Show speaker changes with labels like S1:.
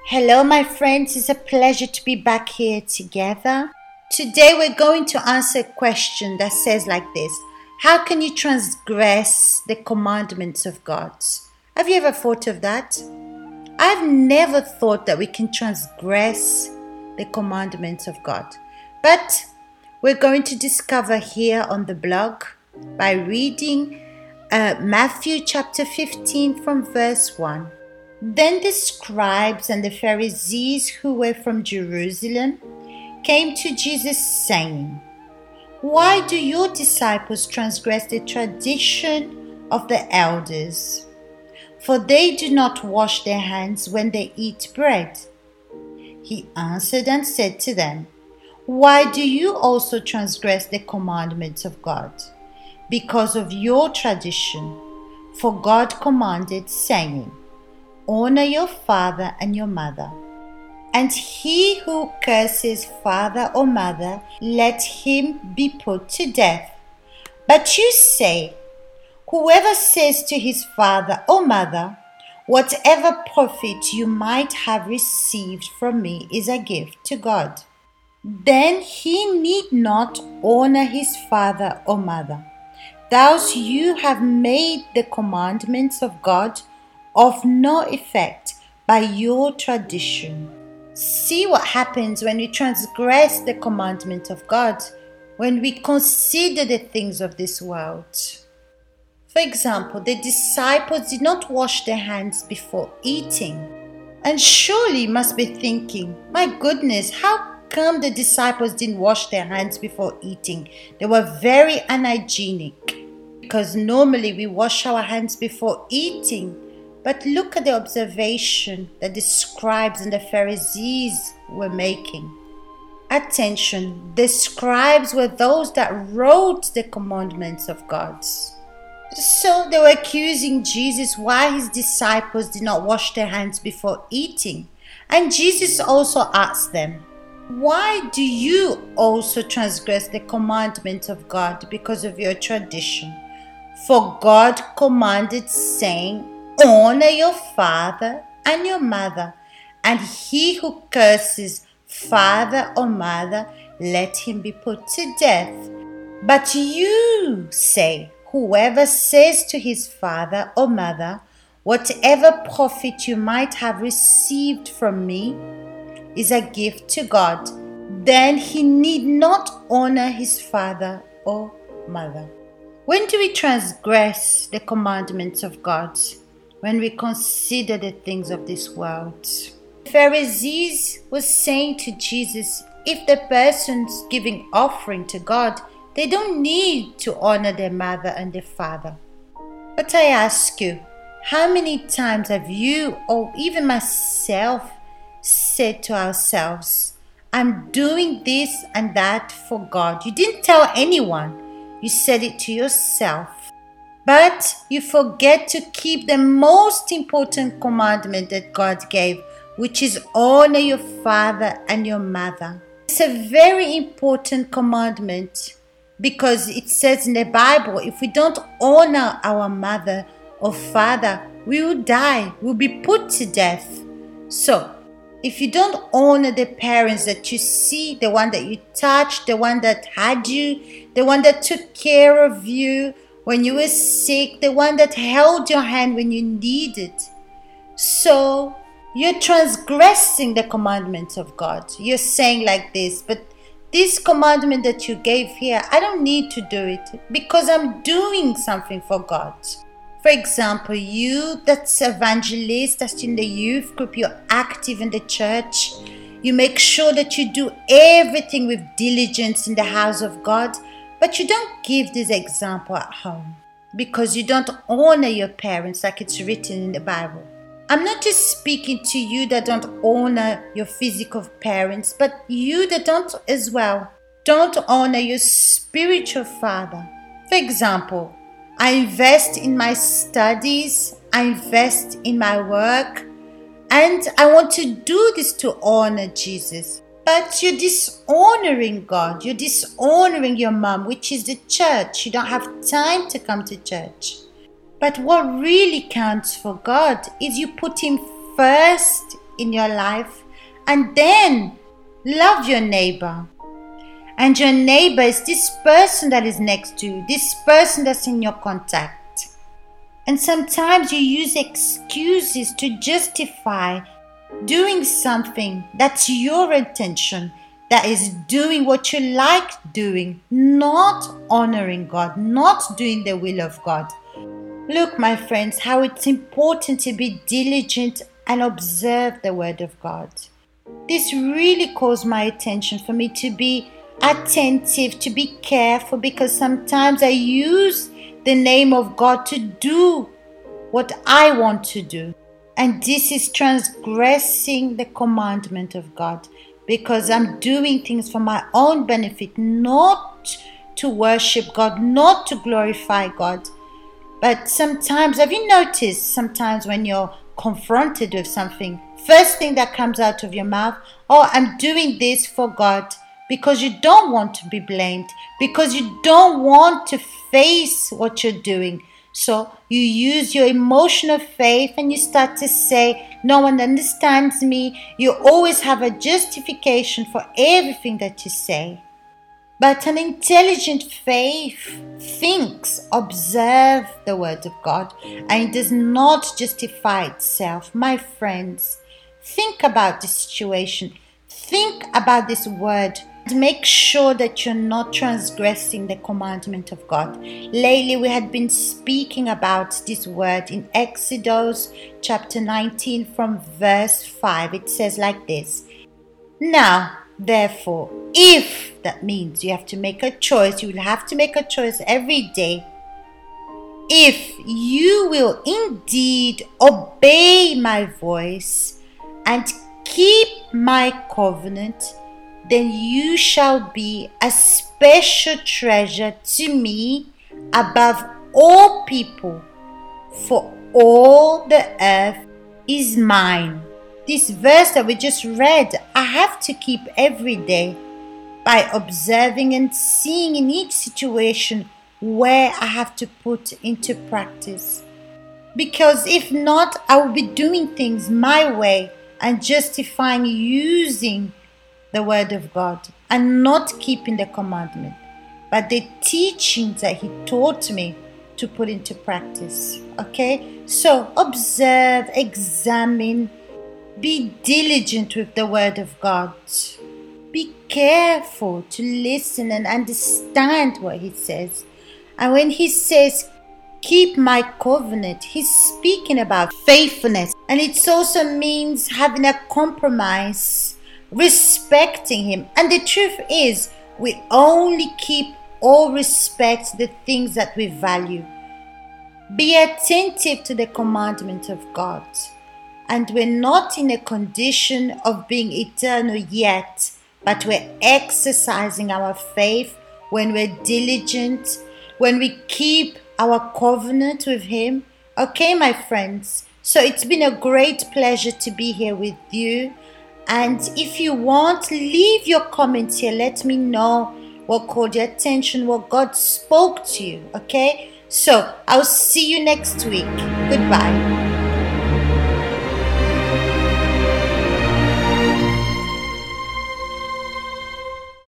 S1: Hello, my friends. It's a pleasure to be back here together. Today, we're going to answer a question that says like this: how can you transgress the commandments of God? Have you ever thought of that? I've never thought that we can transgress the commandments of God. But we're going to discover here on the blog by reading Matthew chapter 15 from verse 1. Then the scribes and the Pharisees who were from Jerusalem came to Jesus saying, "Why do your disciples transgress the tradition of the elders? For they do not wash their hands when they eat bread." He answered and said to them, "Why do you also transgress the commandments of God? Because of your tradition. For God commanded, saying, 'Honor your father and your mother.' And he who curses father or mother, let him be put to death. But you say, whoever says to his father or mother, 'Whatever profit you might have received from me is a gift to God,' then he need not honor his father or mother. Thus you have made the commandments of God of no effect by your tradition." See what happens when we transgress the commandment of God, when we consider the things of this world. For example, the disciples did not wash their hands before eating. And surely you must be thinking, my goodness, how come the disciples didn't wash their hands before eating? They were very unhygienic, because normally we wash our hands before eating. But look at the observation that the scribes and the Pharisees were making. Attention, the scribes were those that wrote the commandments of God. So they were accusing Jesus why his disciples did not wash their hands before eating. And Jesus also asked them, "Why do you also transgress the commandment of God because of your tradition? For God commanded, saying, 'Honor your father and your mother,' and he who curses father or mother, let him be put to death. But you say, whoever says to his father or mother, 'Whatever profit you might have received from me is a gift to God,' then he need not honor his father or mother." When do we transgress the commandments of God? When we consider the things of this world. The Pharisees was saying to Jesus, if the person's giving offering to God, they don't need to honor their mother and their father. But I ask you, how many times have you, or even myself, said to ourselves, "I'm doing this and that for God"? You didn't tell anyone. You said it to yourself. But you forget to keep the most important commandment that God gave, which is honor your father and your mother. It's a very important commandment because it says in the Bible, if we don't honor our mother or father, we will die, we'll be put to death. So, if you don't honor the parents that you see, the one that you touched, the one that had you, the one that took care of you when you were sick, the one that held your hand when you needed. So you're transgressing the commandments of God. You're saying like this, but this commandment that you gave here, I don't need to do it because I'm doing something for God. For example, you that's evangelist, that's in the youth group, you're active in the church. You make sure that you do everything with diligence in the house of God. But you don't give this example at home because you don't honor your parents like it's written in the Bible. I'm not just speaking to you that don't honor your physical parents, but you that don't as well. Don't honor your spiritual father. For example, I invest in my studies, I invest in my work, and I want to do this to honor Jesus. But you're dishonoring God. You're dishonoring your mom, which is the church. You don't have time to come to church. But what really counts for God is you put him first in your life, and then love your neighbor. And your neighbor is this person that is next to you, this person that's in your contact. And sometimes you use excuses to justify doing something that's your intention, that is doing what you like doing, not honoring God, not doing the will of God. Look, my friends, how it's important to be diligent and observe the word of God. This really calls my attention for me to be attentive, to be careful, because sometimes I use the name of God to do what I want to do. And this is transgressing the commandment of God, because I'm doing things for my own benefit, not to worship God, not to glorify God. But sometimes, have you noticed, sometimes when you're confronted with something, first thing that comes out of your mouth, oh, I'm doing this for God, because you don't want to be blamed, because you don't want to face what you're doing. So you use your emotional faith and you start to say, no one understands me. You always have a justification for everything that you say. But an intelligent faith thinks, observe the word of God, and it does not justify itself. My friends, think about the situation. Think about this word. Make sure that you're not transgressing the commandment of God. Lately, we had been speaking about this word in Exodus chapter 19 from verse 5. It says like this. Now, therefore, if that means you have to make a choice, you will have to make a choice every day. If you will indeed obey my voice and keep my covenant, then you shall be a special treasure to me above all people, for all the earth is mine. This verse that we just read, I have to keep every day by observing and seeing in each situation where I have to put into practice. Because if not, I will be doing things my way and justifying using the word of God and not keeping the commandment, but the teachings that he taught me to put into practice. Okay, so observe, examine, be diligent with the word of God. Be careful to listen and understand what he says. And when he says keep my covenant, he's speaking about faithfulness, and it also means having a compromise, respecting him. And the truth is, we only keep or respect the things that we value. Be attentive to the commandment of God. And we're not in a condition of being eternal yet, but we're exercising our faith when we're diligent, when we keep our covenant with him. Okay, my friends, so it's been a great pleasure to be here with you. And if you want, leave your comments here. Let me know what caught your attention, what God spoke to you. Okay, so I'll see you next week. Goodbye.